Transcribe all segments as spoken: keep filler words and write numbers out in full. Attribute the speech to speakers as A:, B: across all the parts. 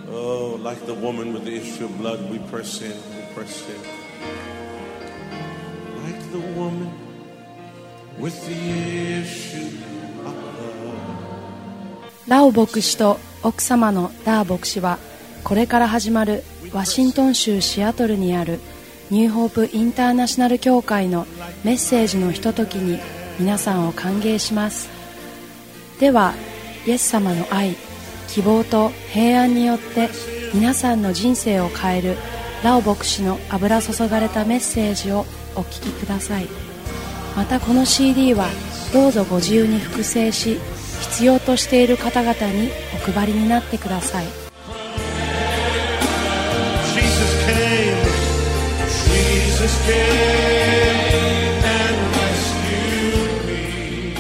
A: Oh, like the woman with the issue of blood, we press in, we press in. Like the woman with the issue of blood.
B: ラオ牧師と奥様のダー牧師は、これから始まるワシントン州シアトルにあるニューホープインターナショナル教会のメッセージのひとときに皆さんを歓迎します。では、イエス様の愛、希望と平安によって皆さんの人生を変えるラオ牧師の油注がれたメッセージをお聞きください。またこの シーディー はどうぞご自由に複製し、必要としている方々にお配りになってください。
A: Jesus came, Jesus came and rescued me.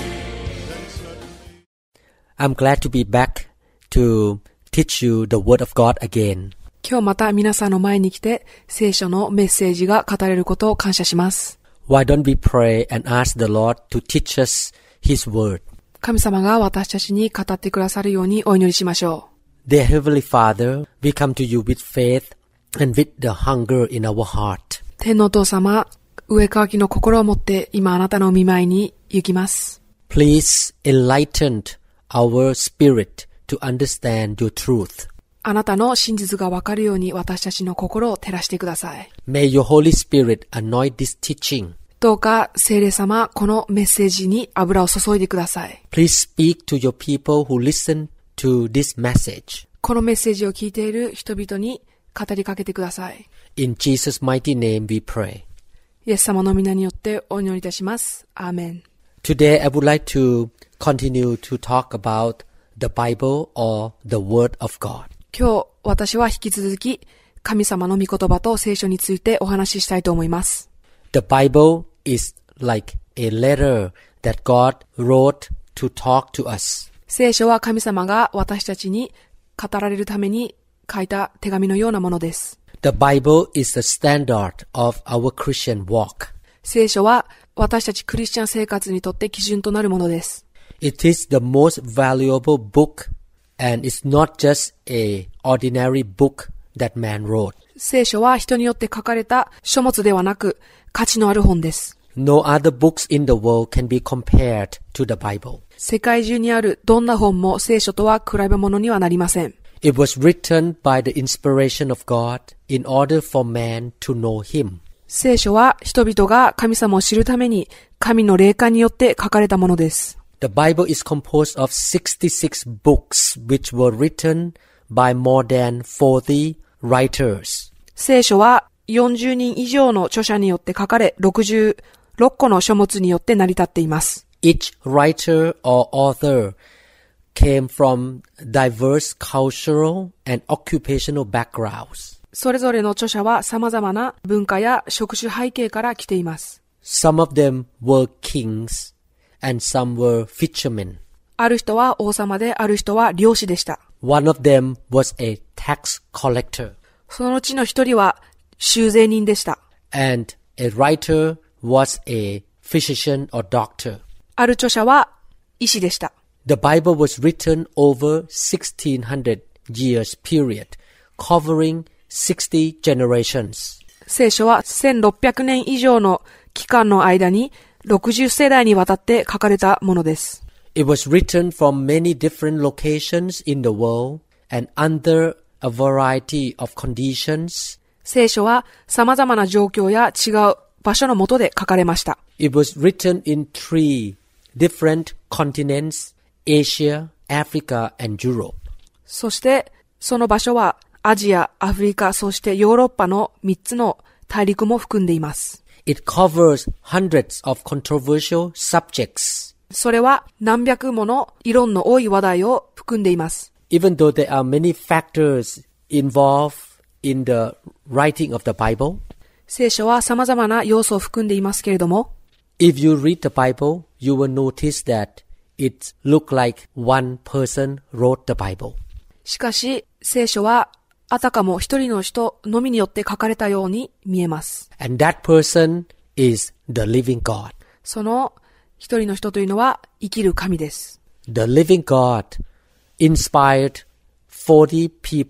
C: I'm glad to be back to teach you the word of God again.
D: 今日また皆さんの前に来て聖書のメッセージが語れることを感謝します。
C: Why don't we pray and ask the Lord to teach us His word?
D: 神様が私たちに語ってくださるようにお祈りしましょう。
C: Dear Heavenly Father, we come to you with faith and with the hunger in our heart.
D: 天のお父様、上かわきの心を持って今あなたのお見舞いに行きます。
C: Please enlighten our spirit to understand your truth.
D: あなたの真実がわかるように私たちの心を照らしてください。
C: May your Holy Spirit anoint this teaching.
D: どうか聖霊様、このメッセージに油を注いでください。
C: Please speak to your people who listen to this message.
D: このメッセージを聞いている人々に語りかけてください。
C: In Jesus' mighty name we pray.
D: イエス様の皆によってお祈りいたします。アーメン。
C: Today I would like to continue to talk about the Bible or the Word of God.
D: 今日私は引き続き神様の御言葉と聖書についてお話ししたいと思います。
C: The Bible is like a letter that God wrote to talk to us.
D: 聖書は神様が私たちに語られるために書いた手紙のようなものです。
C: The Bible is the standard of our Christian walk.
D: 聖書は私たちクリスチャン生活にとって基準となるものです。
C: It is the most valuable book and it's not just a ordinary book that man wrote.
D: 聖書は人によって書かれた書物ではなく価値のある本です。
C: No other books in the world can be compared to the Bible.
D: 世界中にあるどんな本も聖書とは比べ物にはなりません。
C: It was written by the inspiration of God in order for man to know Him.
D: 聖書は人々が神様を知るために神の霊感によって書かれたものです。
C: The Bible is composed of sixty-six books which were written by more than forty writers.
D: 聖書はよんじゅうにん以上の著者によって書かれ、ろくじゅうろっこの書物によって成り立っています。
C: Each writer or author came from diverse cultural and occupational backgrounds.
D: それぞれの著者は様々な文化や職種背景から来ています。
C: Some of them were kings and some were fishermen.
D: ある人は王様で、ある人は漁師でした。
C: One of them was a tax collector.
D: そのうちの一人は収税人でした。
C: And a writer was a physician or doctor.
D: ある著者は医師でした。
C: The Bible was written over sixteen hundred years period, covering sixty generations.
D: 聖書はせんろっぴゃくねん以上の期間の間にろくじゅう世代にわたって書かれたものです。
C: It was written from many different locations in the world and under a variety of conditions.
D: 聖書は様々な状況や違う場所の下で書かれました。
C: It was written in three different continents, Asia, Africa, and Europe.
D: そしてその場所はアジア、アフリカ、そしてヨーロッパのみっつの大陸も含んでいます。
C: It covers hundreds of controversial subjects.
D: それは何百もの議論の多い話題を含んでいます。
C: Even though there are many factors involved in the writing of the Bible,
D: 聖書は様々な要素を含んでいますけれども、
C: if you read the Bible, you will notice that it looks like one person wrote the Bible.
D: しかし、聖書はあたかも一人の人のみによって書かれたように見えます。
C: And that person is the living God.
D: その一人の人というのは生きる神です。
C: The living God inspired forty people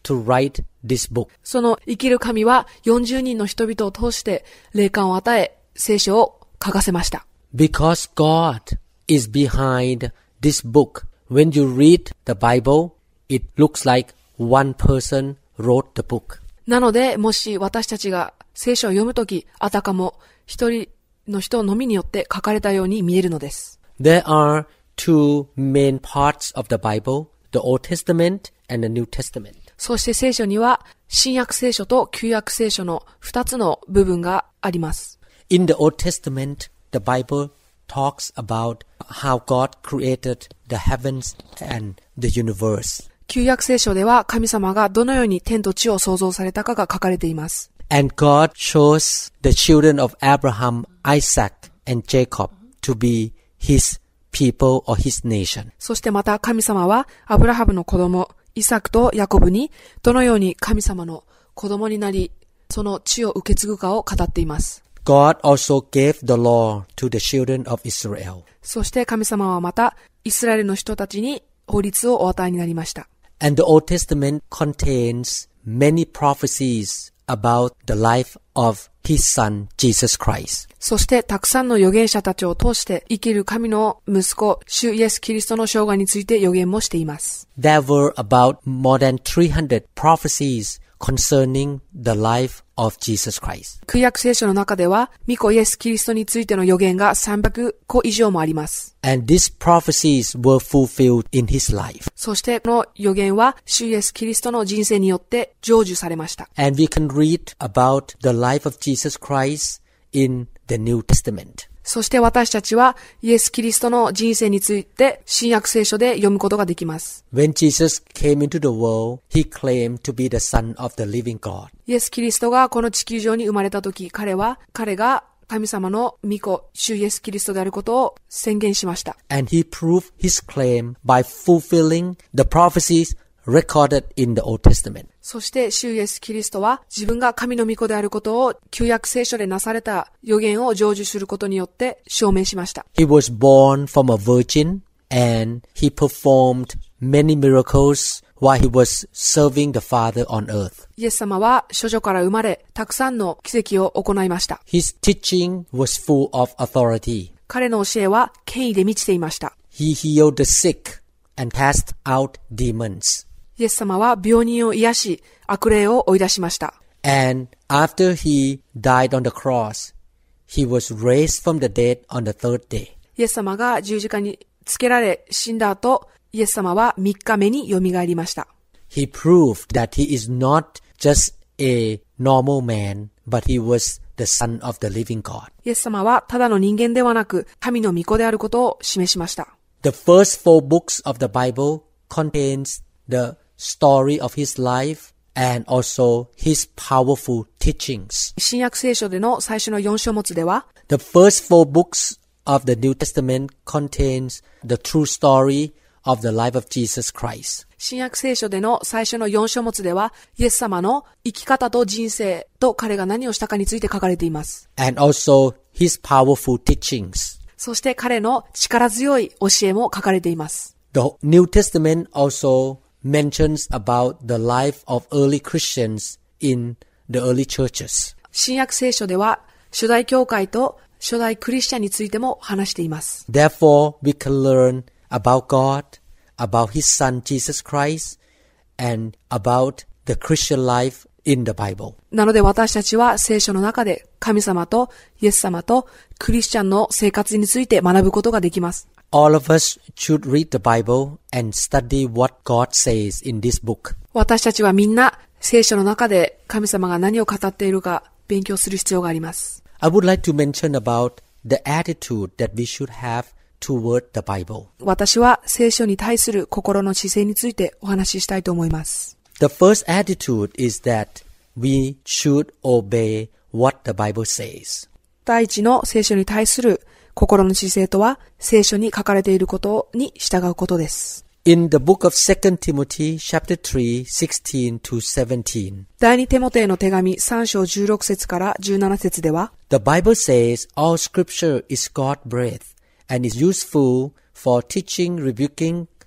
C: to write this book.
D: その生きる神はよんじゅうにんの人々を通して霊感を与え、聖書を書かせました。
C: Because God is behind this book. When you read the Bible, it looks like one person wrote the book.
D: なので、もし私たちが聖書を読むとき、あたかも一人の人のみによって書かれたように見えるのです。
C: There are two main parts of the Bible, the Old Testament and the New Testament.
D: そして聖書には新約聖書と旧約聖書の二つの部分があります。
C: In the Old Testament, the Bible talks about how God created the heavens and the universe.
D: 旧約聖書では神様がどのように天と地を創造されたかが書かれています。
C: And God chose the children of Abraham, Isaac, and Jacob to be His people or His nation.
D: そしてまた神様はアブラハムの子供、イサクとヤコブにどのように神様の子供になり、その地を受け継ぐかを語っています。
C: God also gave the law to the children of Israel.
D: そして神様はまたイスラエルの人たちに法律をお与えになりました。
C: And the Old Testament contains many prophecies about the life of His Son, Jesus Christ.
D: そしてたくさんの預言者たちを通して生きる神の息子、主イエス・キリストの生涯について預言もしています。
C: There were about more than three hundred prophecies concerning the life of Jesus Christ.
D: 旧約聖書の中では、御子イエス・キリストについての預言がさんびゃくこ以上もあります。
C: And these prophecies were fulfilled in His life.
D: そしてこの預言は、主イエス・キリストの人生によって成就されました。
C: And we can read about the life of Jesus Christ in the New Testament.
D: そして私たちはイエス・キリストの人生について新約聖書で読むことができます。
C: When Jesus came into the world, He claimed to be the Son of the living God.
D: イエス・キリストがこの地球上に生まれたとき、彼は、彼が神様の御子、主イエス・キリストであることを宣言しました。
C: And He proved His claim by fulfilling the prophecies recorded in the Old Testament.
D: そして主イエス・キリストは自分が神の御子であることを旧約聖書でなされた預言を成就することによって証明しました。
C: He was born from a virgin and He performed many miracles while He was serving the Father on earth.
D: イエス様は処女から生まれ、たくさんの奇跡を行いました。
C: His teaching was full of authority.
D: 彼の教えは権威で満ちていました。
C: He healed the sick and cast out demons.
D: イエス様は病人を癒し、悪霊を追い出しました。
C: And after He died on the cross, He was raised from the dead on the third day.
D: イエス様が十字架につけられ死んだ後、イエス様はみっかめによみがえりました。
C: He proved that He is not just a normal man, but He was the Son of the living God.
D: イエス様はただの人間ではなく、神の御子であることを示しました。
C: The first four books of the Bible contains the story of His life and also His powerful teachings.
D: 新約聖書での最初のよん書物では、
C: The first four books of the New Testament contains the true story of the life of Jesus Christ.
D: 新約聖書での最初のよん書物では、イエス様の生き方と人生と彼が何をしたかについて書かれています。
C: And also His powerful teachings.
D: そして彼の力強い教えも書かれています。
C: The New Testament also mentions about the life of early Christians in the early churches.
D: 新約聖書では、初代教会と初代クリスチャンについても話しています。
C: Therefore, we can learn about God, about His Son Jesus Christ, and about the Christian life in the Bible.
D: なので私たちは聖書の中で神様とイエス様とクリスチャンの生活について学ぶことができます。
C: All of us should read the Bible and study what God says in this book.
D: 私たちはみんな聖書の中で神様が何を語っているか勉強する必要があります。
C: I would like to mention about the attitude that we should have toward the Bible.
D: 私は聖書に対する心の姿勢についてお話ししたいと思います。
C: The first attitude is that we should obey what the Bible says.
D: 第一の聖書に対する心の姿勢とは、聖書に書かれていることに従うことです。
C: In the book of Second Timothy, chapter three, sixteen to seventeen.
D: 第二テモテへの手紙さん章じゅうろく節からじゅうなな節では、
C: The Bible says all scripture is God-breathed and is useful for teaching, rebuking,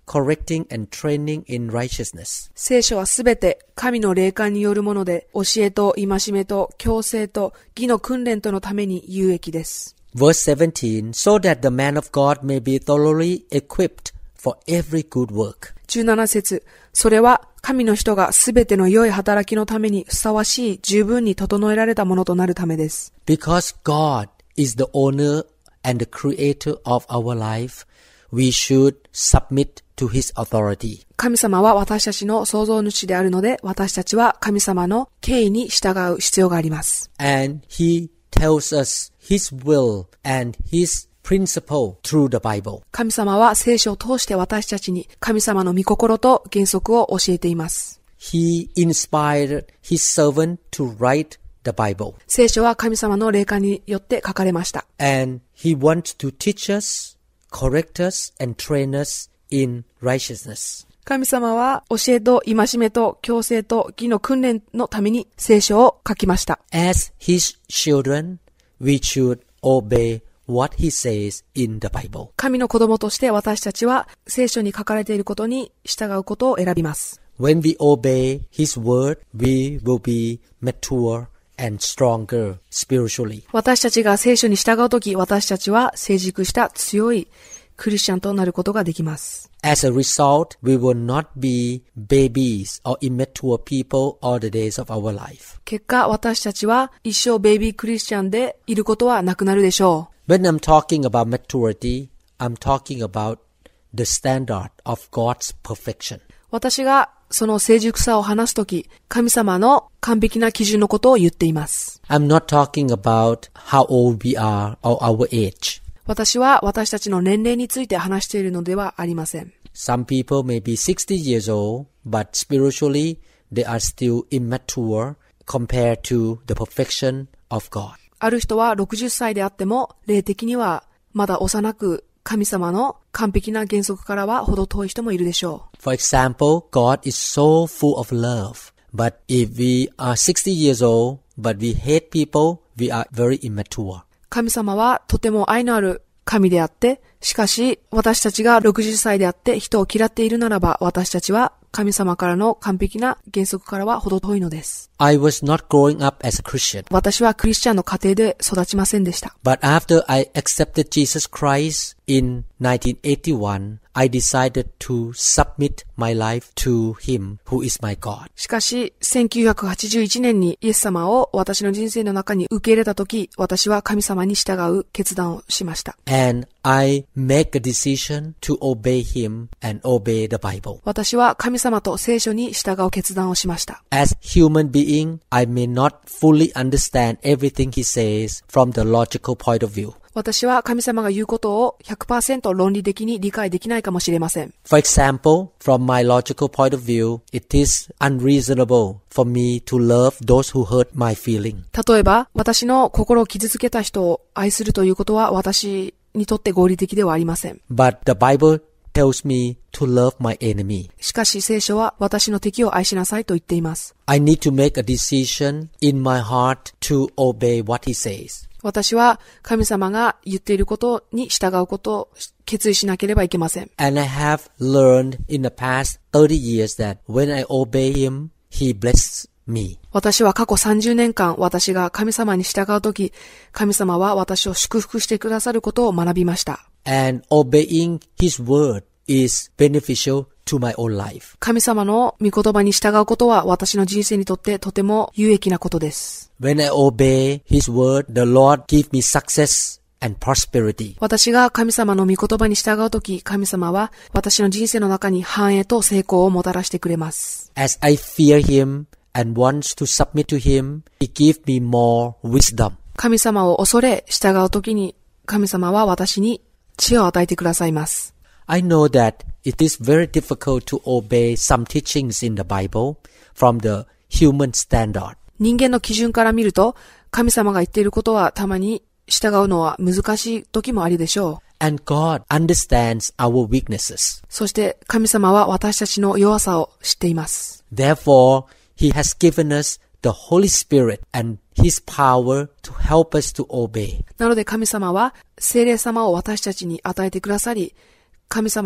C: correcting and training in righteousness.
D: 聖書はすべて神の霊感によるもので、教えと戒めと矯正と義の訓練とのために有益です。
C: Verse seventeen, so that the man of God may be thoroughly equipped for every good work.
D: じゅうなな節、それは神の人がすべての良い働きのためにふさわしい十分に整えられたものとなるためです。
C: Because God is the owner and the creator of our life, we should submit to His authority.
D: 神様は私たちの創造主であるので、私たちは神様の権威に従う必要があります。
C: And He tells us His will and His principle through the Bible.
D: 神様は聖書を通して私たちに神様の御心と原則を教えています。
C: He inspired His servant to write the Bible.
D: 聖書は神様の霊感によって書かれました。
C: And He wants to teach us, correct us, and train us in righteousness.
D: 神様は教えと戒めと矯正と義の訓練のために聖書を書きました。
C: As His children, we should obey what He says in the Bible.
D: 神の子供として私たちは聖書に書かれていることに従うことを選びます。
C: When we obey His word, we will be mature and stronger spiritually.
D: 私たちが聖書に従うとき、私たちは成熟した強いクリスチャンとなることができます。
C: As a result, we will not be babies or immature people all the days of our life.
D: 結果、私たちは一生ベイビークリスチャンでいることはなくなるでしょう。
C: When I'm talking about maturity, I'm talking about the standard of God's perfection.
D: 私がその成熟さを話すとき、神様の完璧な基準のことを言っています。
C: I'm not talking about how old we are or our age.
D: 私は私たちの年齢について話しているのではありません。
C: Some people may be sixty years old, but spiritually they are still immature compared to the perfection of God.
D: ある人はろくじゅっさいであっても、霊的にはまだ幼く、神様の完璧な原則からは程遠い人もいるでしょう。
C: For example, God is so full of love, but if we are sixty years old, but we hate people, we are very immature.
D: 神様はとても愛のある神であって、しかし私たちがろくじゅっさいであって人を嫌っているならば、私たちは神様からの完璧な原則からは程遠いのです。
C: I was not growing up as a Christian.
D: 私はクリスチャンの家庭で育ちませんでした。
C: But after I accepted Jesus Christ in nineteen eighty-one, I decided to submit my life to Him who is my God.
D: しかし、せんきゅうひゃくはちじゅういちねんにイエス様を私の人生の中に受け入れたとき、私は神様に従う決断をしました。
C: And I make a decision to obey Him and obey the Bible.
D: 私は神様と聖書に従う決断をしました。
C: As human being, I may not fully understand everything He says from the logical point of view.
D: 私は神様が言うことを ひゃくパーセント 論理的に理解できないかもしれません。
C: For example, from my logical point of view, it is unreasonable for me to love those who hurt my feeling.
D: 例えば、私の心を傷つけた人を愛するということは私にとって合理的ではありません。
C: But the Bible tells me to love my enemy.
D: しかし聖書は私の敵を愛しなさいと言っています。
C: I need to make a decision in my heart to obey what He says.
D: 私は神様が言っていることに従うことを決意しなければいけません。
C: And I have learned in the past thirty years that when I obey Him, He blesses me.
D: 私は過去さんじゅうねんかん、私が神様に従うとき、神様は私を祝福してくださることを学びました。
C: And obeying His word is beneficial to my own life.
D: 神様の御言葉に従うことは私の人生にとってとても有益なことです。
C: When I obey His word, the Lord gives me success and prosperity.
D: 私が神様の御言葉に従うとき、神様は私の人生の中に繁栄と成功をもたらしてくれます。
C: As I fear Him and wants to submit to Him, He gives me more wisdom.
D: 神様を恐れ従うときに、神様は私に知恵を与えてくださいます。
C: I know that it is very difficult to obey some teachings in the Bible from the human standard.
D: 人間の基準から見ると、神様が言っていることはたまに従うのは難しい時もあるでしょう。
C: And God understands our weaknesses.
D: そして神様は私たちの弱さを知っています。
C: Therefore, He has given us the Holy Spirit and His power to help us to obey.
D: なので神様は聖霊様を私たちに与えてくださり、神様の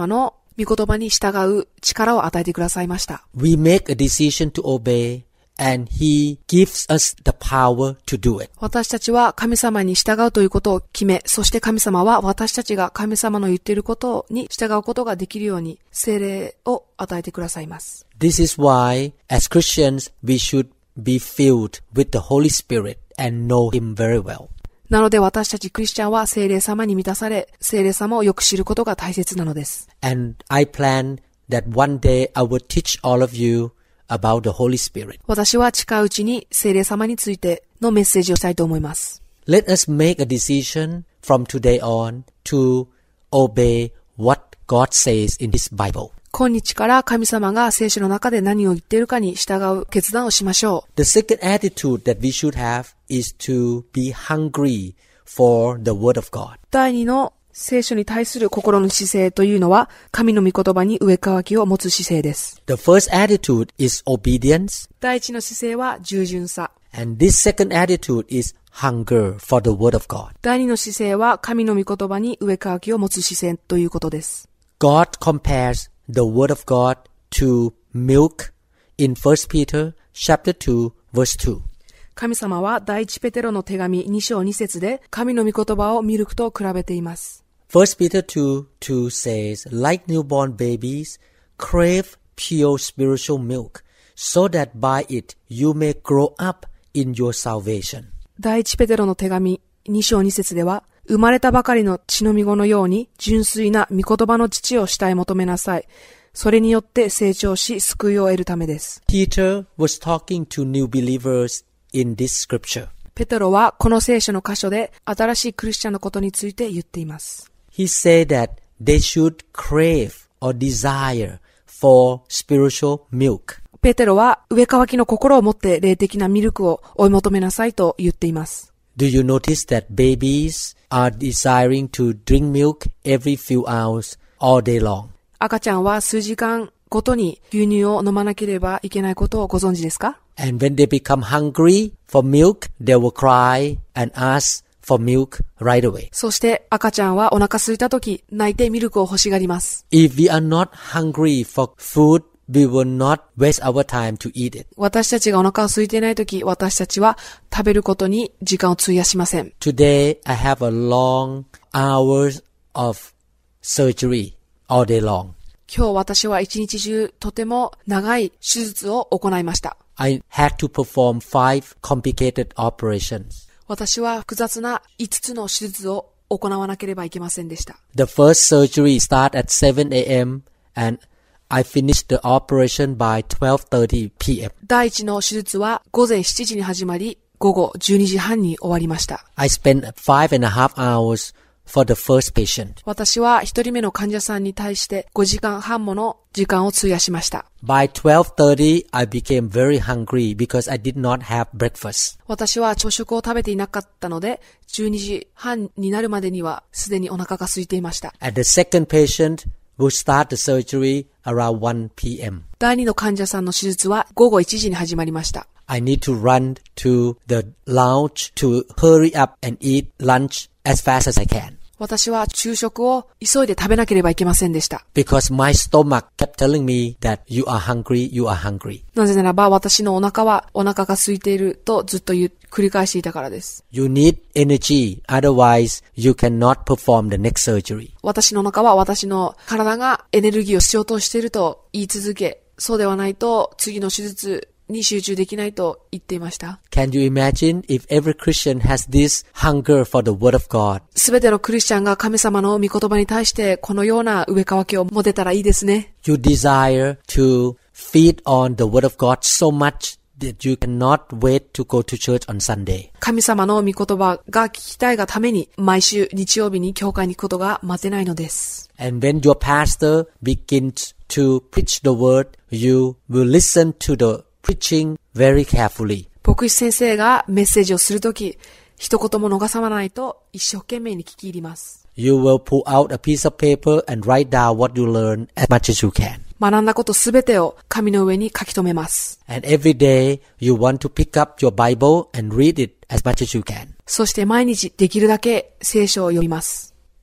D: 御言葉に従う力を与えてくださいました。
C: We make a decision to obey, and He gives us the power to do it.
D: 私たちは神様に従うということを決め、そして神様は私たちが神様の言っていることに従うことができるように聖霊を与えてくださいます。
C: This is why, as Christians, we should be filled with the Holy Spirit and know Him very well.
D: なので私たちクリスチャンは聖霊様に満たされ、聖霊様をよく知ることが大切なのです。
C: And I plan that one day I will teach all of you about the Holy Spirit.
D: 私は近いうちに聖霊様についてのメッセージをしたいと思います。
C: Let us make a decision from today on to obey what God says in His Bible.
D: 今日から神様が聖書の中で何を言っているかに従う決断をしましょう。
C: The second attitude that we should have is to be hungry for the Word of God.
D: 第二の聖書に対する心の姿勢というのは、神の御言葉に上かきを持つ姿勢です。
C: The first attitude is obedience.
D: 第一の姿勢は従順さ。
C: And this second attitude is hunger for the Word of God.
D: 第二の姿勢は神の御言葉に上かきを持つ姿勢ということです。
C: God compares the Word of God to milk in First Peter chapter two verse two.
D: 神様は第一ペテロの手紙に章に節で神の御言葉をミルクと比べています。
C: First Peter two two says, like newborn babies, crave pure spiritual milk, so that by it you may grow up in your salvation.
D: 第一ペテロの手紙に章に節では、生まれたばかりの血のみ子のように純粋な御言葉の父を慕い求めなさい。それによって成長し救いを得るためです。
C: Peter was talking to new believers in this scripture.
D: ペテロはこの聖書の箇所で新しいクリスチャンのことについて言っています。
C: He said that they should crave or desire for spiritual milk.
D: ペテロは上かわきの心を持って霊的なミルクを追い求めなさいと言っています。
C: Do you notice that babies are desiring to drink milk every few hours all day long?
D: 赤ちゃんは数時間ごとに牛乳を飲まなければいけないことをご存知ですか？
C: And when they become hungry for milk, they will cry and ask for milk right away.
D: そして赤ちゃんはお腹空いたとき泣いてミルクを欲しがります。
C: If we are not hungry for food, we will not waste our time to eat it.
D: 私たちがお腹を空いていないとき、私たちは食べることに時間を費やしません。
C: Today, I have a long hours of surgery all day long.
D: 今日私は一日中とても長い手術を行いました。
C: I had to perform five complicated operations.
D: 私は複雑な五つの手術を行わなければいけませんでした。
C: The first surgery started at seven a.m. and I finished the operation by twelve thirty p.m.
D: 第一の手術は午前しちじに始まり、午後じゅうにじはんに終わりました。
C: I spent five and a half hours for the first patient.
D: 私は一人目の患者さんに対してごじかんはんもの時間を費やしました。
C: By twelve thirty, I became very hungry because I did not have breakfast.
D: 私は朝食を食べていなかったので、じゅうにじはんになるまでにはすでにお腹が空いていました。
C: And the second patient will start the surgery around one p.m.
D: 第二の患者さんの手術は午後いちじに始まりました。
C: I need to run to the lounge to hurry up and eat lunch as fast as I can.
D: 私は昼食を急いで食べなければいけませんでした。
C: Because my stomach kept telling me that you are hungry, you are hungry.
D: なぜならば私のお腹はお腹が空いているとずっと言う繰り返していたからです。
C: You need energy, otherwise you cannot perform the next surgery.
D: 私のお腹は私の体がエネルギーを必要としていると言い続け、そうではないと次の手術に集中できないと言っていました。
C: Can you imagine if every Christian has this hunger for the Word of God?
D: すべてのクリスチャンが神様の御言葉に対してこのような上かわきを持てたらいいですね。
C: You desire to feed on the Word of God so much that you cannot wait to go to church on Sunday.
D: 神様の御言葉が聞きたいがために毎週日曜日に教会に行くことが待てないのです。
C: And when your pastor begins to preach the Word, you will listen to the preaching very carefully.
D: 牧師先生がメッセージをするとき、一言も逃さないと一生懸命に聞き入ります。
C: You will pull out a piece of paper and write down what you learn as much as you can.
D: 学んだことすべてを紙の上に書き留めます。
C: And every day you want to pick up your Bible and read it as much as you can.
D: そして毎日できるだけ聖書を読みます。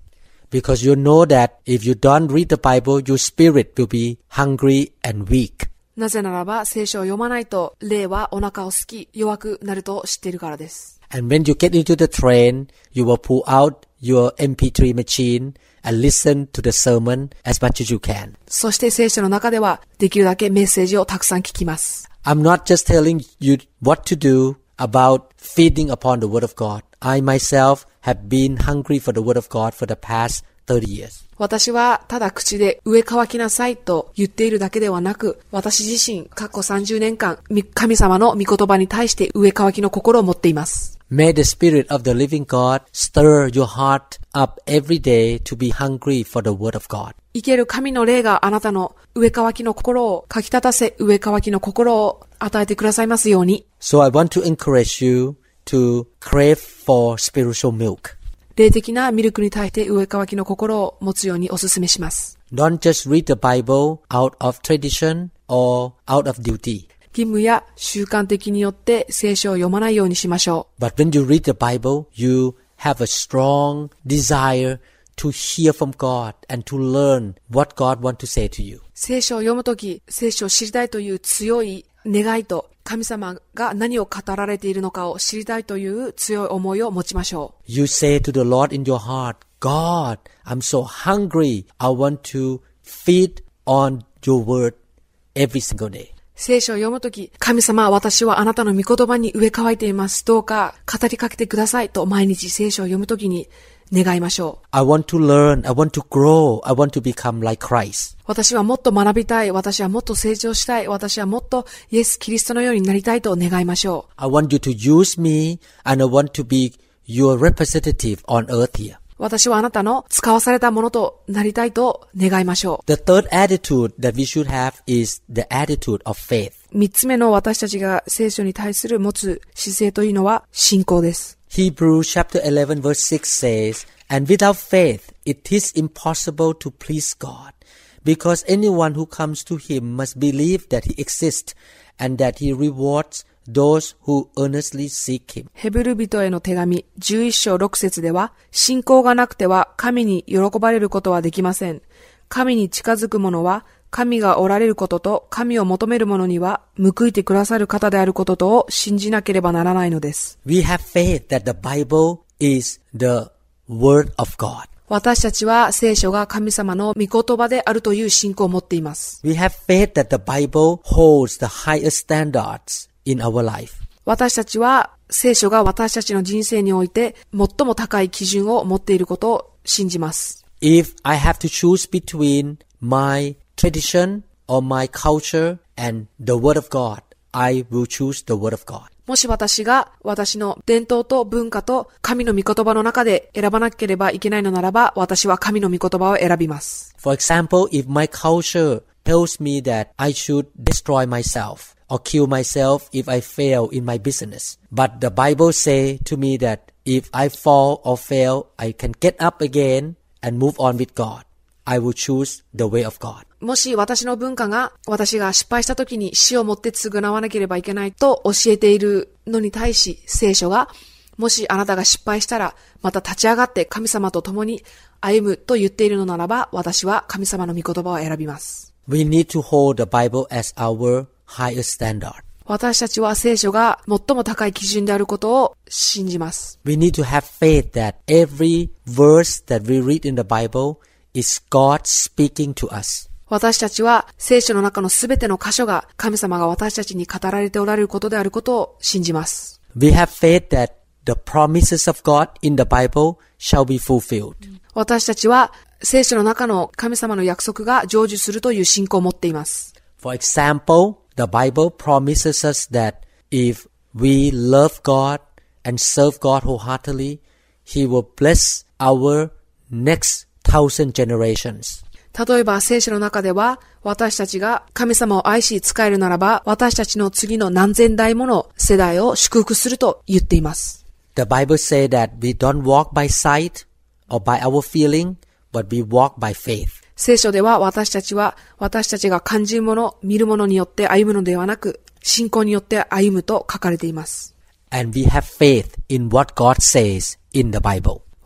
C: Because you know that if you don't read the Bible, your spirit will be hungry and weak.
D: なぜならば聖書を読まないと霊はお腹を空き弱くなると知っているからです。
C: And when you get into the train, you will pull out your エムピースリー machine and listen to the sermon as much as you can.
D: そして聖書の中ではできるだけメッセージをたくさん聞きます。
C: I'm not just telling you what to do about feeding upon the Word of God. I myself have been hungry for the Word of God for the past thirty years.
D: 私はただ口で上乾きなさいと言っているだけではなく、私自身過去さんじゅうねんかん神様の御言葉に対して上乾きの心を持っています。
C: May the Spirit of the living God stir your heart up every day to be hungry for the Word of God.
D: 生ける神の霊があなたの上乾きの心をかき立たせ、上乾きの心を与えてくださいますように。
C: So I want to encourage you to crave for spiritual milk.
D: 霊的なミルクに対して上乾きの心を持つようにお勧めします。
C: Don't just read the Bible out of tradition or out of duty.
D: 義務や習慣的によって聖書を読まないようにしましょ
C: う。But when you read the Bible, you have a strong desire to hear from God and to learn what God wants to say to you.
D: 聖書を読むとき、聖書を知りたいという強い願いと、神様が何を語られているのかを知りたいという強い思いを持ちましょう。
C: You say to the Lord in your heart, God, I'm so hungry. I want to feed on your word every single day.
D: 聖書を読むとき、神様、私はあなたの御言葉に植え替えています。どうか語りかけてくださいと毎日聖書を読むときに願いましょう。
C: I want to learn. I want to grow. I want to become like Christ.
D: 私はもっと学びたい。私はもっと成長したい。私はもっとイエス・キリストのようになりたいと願いましょう。
C: I want you to use me and I want to be your representative on earth here.
D: 私はあなたの使わされたものとなりたいと願いましょう。
C: The third attitude that we should have is the attitude of faith.
D: 三つ目の私たちが聖書に対する持つ姿勢というのは信仰です。
C: Hebrews chapter eleven verse six says, And without faith it is impossible to please God, because anyone who comes to him must believe that he exists and that he rewards those who earnestly seek him.
D: ヘブル人への手紙じゅういっ章ろく節では、信仰がなくては神に喜ばれることはできません。神に近づく者は神がおられることと神を求める者には報いてくださる方であることとを信じなければならないのです。
C: We have faith that the Bible is the word of God.
D: 私たちは聖書が神様の御言葉であるという信仰を持っています。
C: We have faith that the Bible holds the highest standards in our life.
D: 私たちは聖書が私たちの人生において最も高い基準を持っていることを信じます。
C: If I have to choose between my tradition or my culture and the word of God, I will choose the word of God.
D: もし私が私の伝統と文化と神の御言葉の中で選ばなければいけないのならば、私は神の御言葉を選びます。
C: For example, if my culture tells me that I should destroy myself or kill myself if I fail in my business, but the Bible say to me that if I fall or fail, I can get up again and move on with God, I will choose the way of God.
D: もし私の文化が私が失敗した時に死をもって償わなければいけないと教えているのに対し、聖書がもしあなたが失敗したらまた立ち上がって神様と共に歩むと言っているのならば、私は神様の御言葉を選びます。
C: We need to hold the Bible as our highest standard.
D: 私たちは聖書が最も高い基準であることを信じます。
C: We need to have faith that every verse that we read in the Bible is God speaking to us.
D: 私たちは聖書の中のすべての箇所が神様が私たちに語られておられることであることを信じます。
C: We have faith that the promises of God in the Bible shall be fulfilled.
D: 私たちは聖書の中の神様の約束が成就するという信仰を持っています。
C: For example, the Bible promises us that if we love God and serve God wholeheartedly, He will bless our next thousand generations.
D: 例えば聖書の中では、私たちが神様を愛し仕えるならば、私たちの次の何千代もの世代を祝福すると言っています。
C: The Bible says that we don't walk by sight or by our feeling, but we walk by faith.
D: 聖書では私たちは私たちが感じるもの、見るものによって歩むのではなく、信仰によって歩むと書かれています。
C: And we have faith in what God says in the Bible.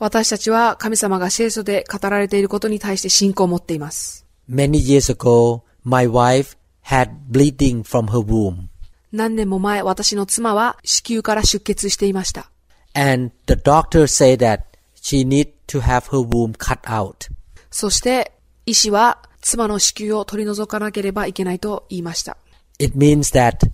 D: 私たちは神様が聖書で語られていることに対して信仰を持っています。
C: Many years ago, my wife had bleeding from her womb.
D: 何年も前、私の妻は子宮から出血していました。
C: And the doctor said that she need to have her womb cut out.
D: そして医師は妻の子宮を取り除かなければいけないと言いました。
C: It means that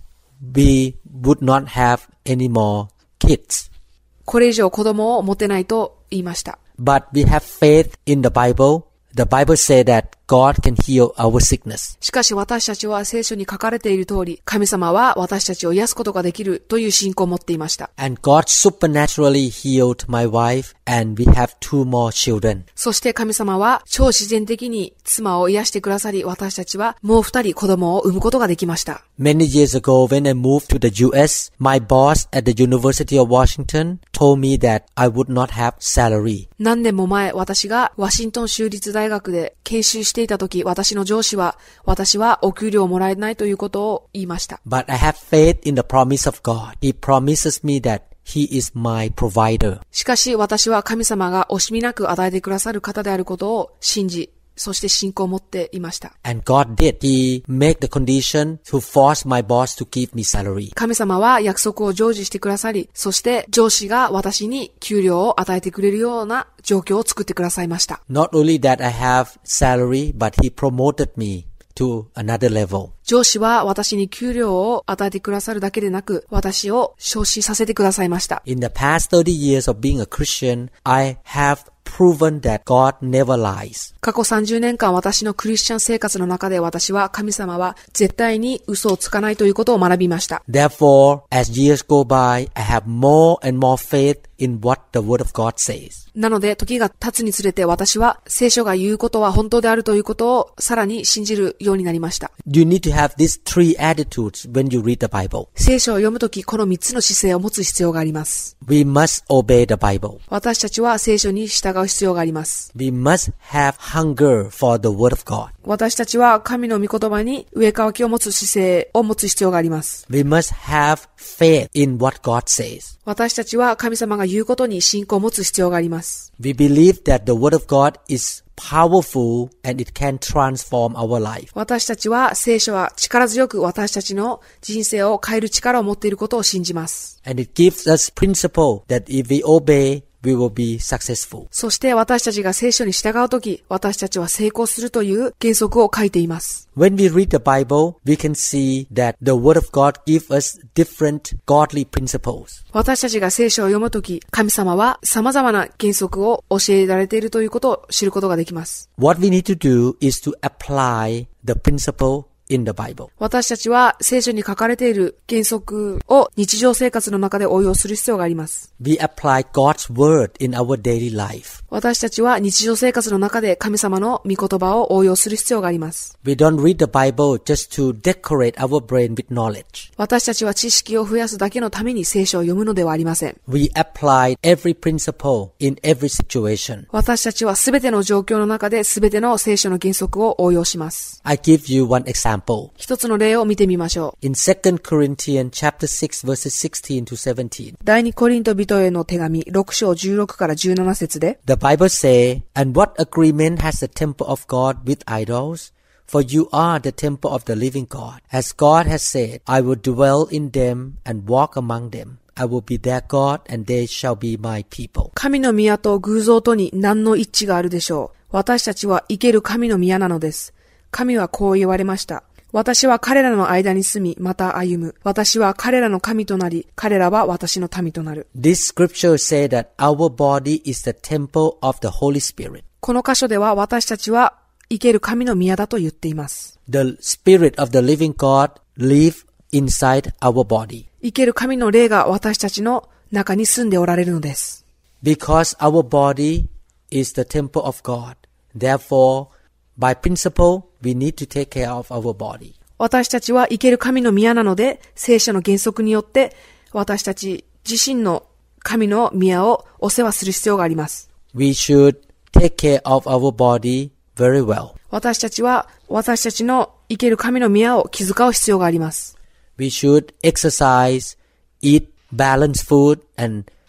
C: we would not have any more kids.
D: これ以上子供を持てないと言いました。
C: But we have faith in the Bible. The Bible says that God can heal our sickness.
D: しかし私たちは聖書に書かれている通り、神様は私たちを癒すことができるという信仰を持っていました。
C: And God supernaturally healed my wife, and we have two more children.
D: そして神様は超自然的に妻を癒してくださり、私たちはもう二人子供を産むことができました。
C: Many years ago, when I moved to the U S, my boss at the University of Washington told me that I would not have salary.
D: 何年も前、私がワシントン州立大学で研修していた時、私の上司は、私はお給料をもらえないということを言いました。
C: But I have faith in the promise of God. He promises me that He is my provider.
D: しかし私は神様が惜しみなく与えてくださる方であることを信じ、そして信仰を持っていました。
C: And God did. He made the condition to force my boss to give me salary.
D: 神様は約束を成就してくださり、そして上司が私に給料を与えてくれるような状況を作ってくださいました。
C: Not only that I have salary, but He promoted me to another level.
D: 上司は私に給料を与えてくださるだけでなく、私を昇進させてくださいました。
C: In the past thirty years of being a Christian, I have proven that God never lies.
D: 過去さんじゅうねんかん私のクリスチャン生活の中で私は神様は絶対に嘘をつかないということを学びました。
C: Therefore, as years go by, I have more and more faith in what the Word of God says.
D: なので時が経つにつれて私は聖書が言うことは本当であるということをさらに信じるようになりました。
C: You need to have these three attitudes when you read the Bible.
D: 聖書を読むときこのみっつの姿勢を持つ必要があります。
C: We must obey the Bible.
D: 私たちは聖書に従う必要があります。
C: We must have hunger for the Word of God.
D: 私たちは神の御言葉に上かわきを持つ姿勢を持つ必要があります。
C: We must have faith in what God says.
D: 私たちは神様が言うことに信仰を持つ必要があります。
C: We believe that the Word of God is powerful and it can transform our life.
D: 私たちは聖書は力強く私たちの人生を変える力を持っていることを信じます。
C: And it gives us principle that if we obey, we will be successful.
D: そして私たちが聖書に従うとき、私たちは成功するという原則を書いています。
C: When we read the Bible, we can see that the Word of God gives us different godly principles.
D: 私たちが聖書を読むとき、神様は様々な原則を教えられているということを知ることができます。
C: What we need to do is to apply the principle in the Bible.
D: 私たちは聖書に書かれている原則を日常生活の中で応用する必要があります。
C: We apply God's word in our daily life.
D: 私たちは日常生活の中で神様の御言葉を応用する必要があります。
C: We don't read the Bible just to decorate our brain with knowledge.
D: 私たちは知識を増やすだけのために聖書を読むのではありません。
C: We apply every principle in every situation.
D: 私たちはすべての状況の中ですべての聖書の原則を応用します。
C: I give you one example.
D: 一つの例を見てみましょう。
C: In Second Corinthians chapter six verses sixteen to seventeen.
D: 第二コリント人への手紙ろく章じゅうろくからじゅうなな節で
C: The Bible say, And what agreement has the temple of God with idols? For you are the temple of the living God. As God has said, I will dwell in them and walk among them. I will be their God and they shall be my people.
D: 神の宮と偶像とに何の一致があるでしょう。私たちは生ける神の宮なのです。神はこう言われました。私は彼らの間に住み、また歩む。私は彼らの神となり、彼らは私の民となる。
C: This scripture say that our body is the temple of the Holy Spirit.
D: この箇所では私たちは生ける神の宮だと言っています。
C: The Spirit of the living God live inside our body.
D: 生ける神の霊が私たちの中に住んでおられるのです。
C: Because our body is the temple of God. Therefore, by principle, we need to take care of our body.
D: 私たちは生ける神の宮なので、聖書の原則によって私たち自身の神の宮をお世話する必要があります。
C: We should take care of our body very well.
D: 私たちは私たちの生ける神の宮を気遣う必要があります。
C: We should exercise, eat balanced food, and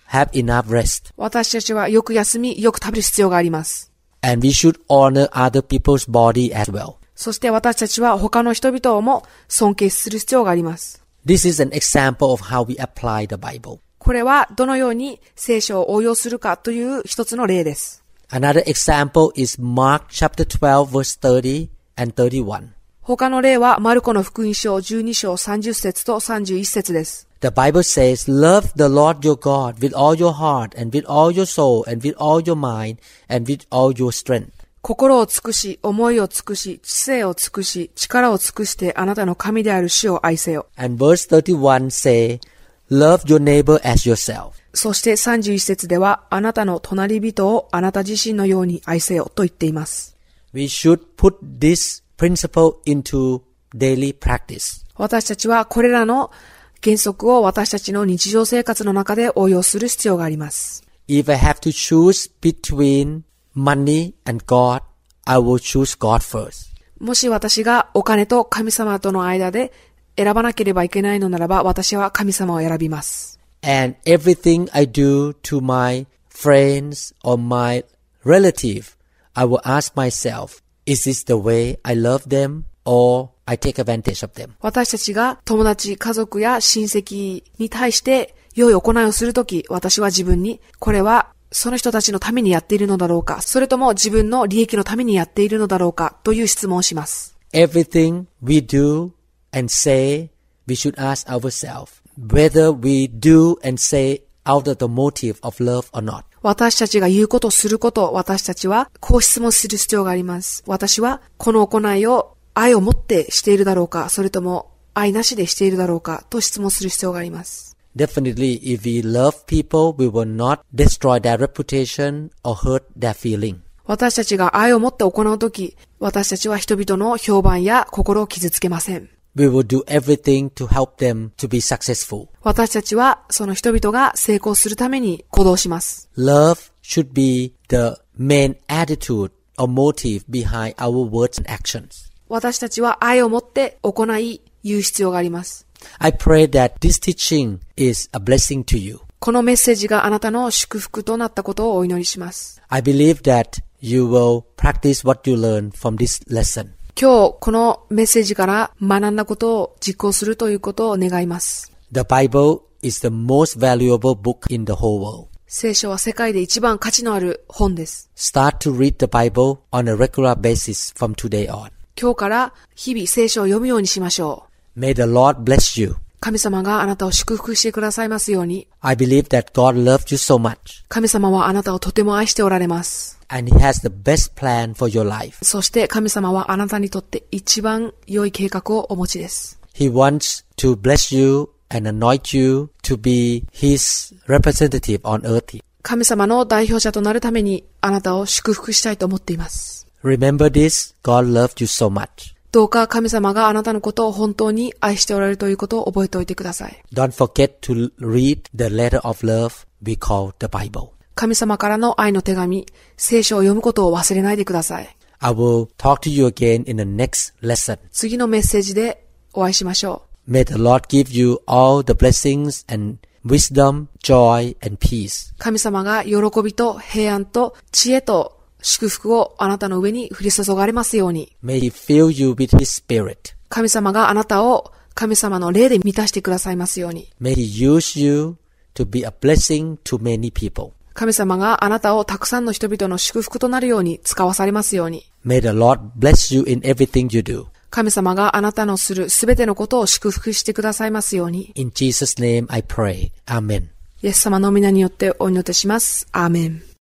C: have enough rest.
D: 私たちはよく休み、よく食べる必要があります。
C: And we should honor other people's body as well.
D: そして私たちは他の人々も尊敬する必要があります。
C: This is an example of how we apply the Bible.
D: これはどのように聖書を応用するかという一つの例です。
C: Another example is Mark chapter twelve verse thirty and thirty-one.
D: 他の例はマルコの福音書じゅうに章さんじゅっ節とさんじゅういち節です。
C: The Bible says, Love the Lord your God with all your heart and with all your soul and with all your mind and with all your strength.
D: 心を尽くし、思いを尽くし、知性を尽くし、力を尽くしてあなたの神である主を愛せよ。
C: And verse thirty-one say, Love your neighbor as yourself.
D: そしてさんじゅういち節では、あなたの隣人をあなた自身のように愛せよと言っています。
C: We should put this principle into daily practice.
D: 私たちはこれらの原則を私たちの日常生活の中で応用する必要があります。
C: If I have to choose between money and God, I will choose God first.
D: もし私がお金と神様との間で選ばなければいけないのならば、私は神様を選びます。
C: And everything I do to my friends or my relative, I will ask myself, is this the way I love them or I take advantage of them?
D: 私たちが友達、家族や親戚に対して良い行いをするとき、私は自分に、これはその人たちのためにやっているのだろうか、それとも自分の利益のためにやっているのだろうかという質問をします。
C: Everything we do and say, we should ask ourselves whether we do and say out of the motive of love or not.
D: 私たちが言うこと、すること、私たちはこう質問する必要があります。私はこの行いを愛を持ってしているだろうか、それとも愛なしでしているだろうかと質問する必要があります。
C: Definitely, if we love people, we will not destroy their reputation or hurt their feeling.
D: 私たちが愛を持って行うとき、私たちは人々の評判や心を傷つけません。
C: We will do everything to help them to be successful.
D: 私たちはその人々が成功するために行動します。
C: Love should be the main attitude or motive behind our words and actions.
D: 私たちは愛を持って行い、言う必要があります。
C: I pray that this teaching is a blessing to you.
D: このメッセージがあなたの祝福となったことをお祈りします。
C: I believe that you will practice what you learn from this lesson.
D: 今日このメッセージから学んだことを実行するということを願います。
C: The Bible is the most valuable book in the whole world.
D: 聖書は世界で一番価値のある本です。
C: Start to read the Bible on a regular basis from today on.
D: 今日から日々聖書を読むようにしましょう。
C: May the Lord bless you.
D: 神様があなたを祝福してくださいますように。
C: I believe that God loved you so much.
D: 神様はあなたをとても愛しておられます。
C: And He has the best plan for your life.
D: そして神様はあなたにとって一番良い計画をお持ちです。
C: He wants to bless you and anoint you to be His representative on earth.
D: 神様の代表者となるためにあなたを祝福したいと思っています。
C: Remember this, God loved you so much.
D: どうか神様があなたのことを本当に愛しておられるということを覚えておいてください。
C: Don't forget to read the letter of love we call the Bible.
D: 神様からの愛の手紙、聖書を読むことを忘れないでください。
C: I will talk to you again in the next lesson.
D: 次のメッセージでお会いしましょ
C: う。May the Lord give you all the blessings and wisdom, joy and peace.
D: 神様が喜びと平安と知恵と祝福をあなたの上に降り注がれますように。
C: May He fill you with His Spirit.
D: 神様があなたを神様の霊で満たしてくださいますように。
C: May He use you to be a blessing to many people.
D: 神様があなたをたくさんの人々の祝福となるように使わされますように。
C: May the Lord bless you in everything you do.
D: 神様があなたのするすべてのことを祝福してくださいますように。
C: In Jesus' name I pray. Amen.
D: イエス様の皆によってお祈りします。アーメン。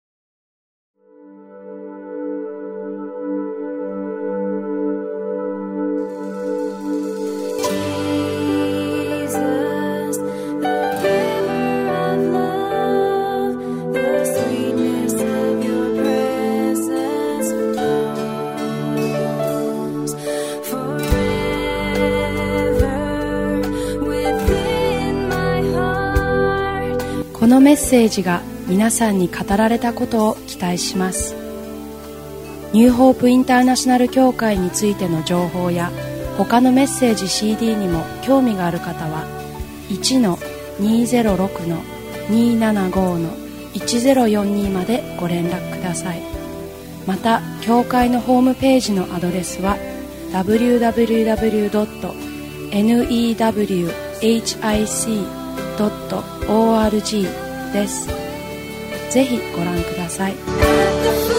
B: このメッセージが皆さんに語られたことを期待します。ニューホープインターナショナル協会についての情報や他のメッセージ シーディー にも興味がある方は いちのにーぜろろくのにーななごーのいちゼロよんにまでご連絡ください。また教会のホームページのアドレスは ダブリューダブリューダブリュードットネットウィヒドットオーアールジー です。ぜひご覧ください。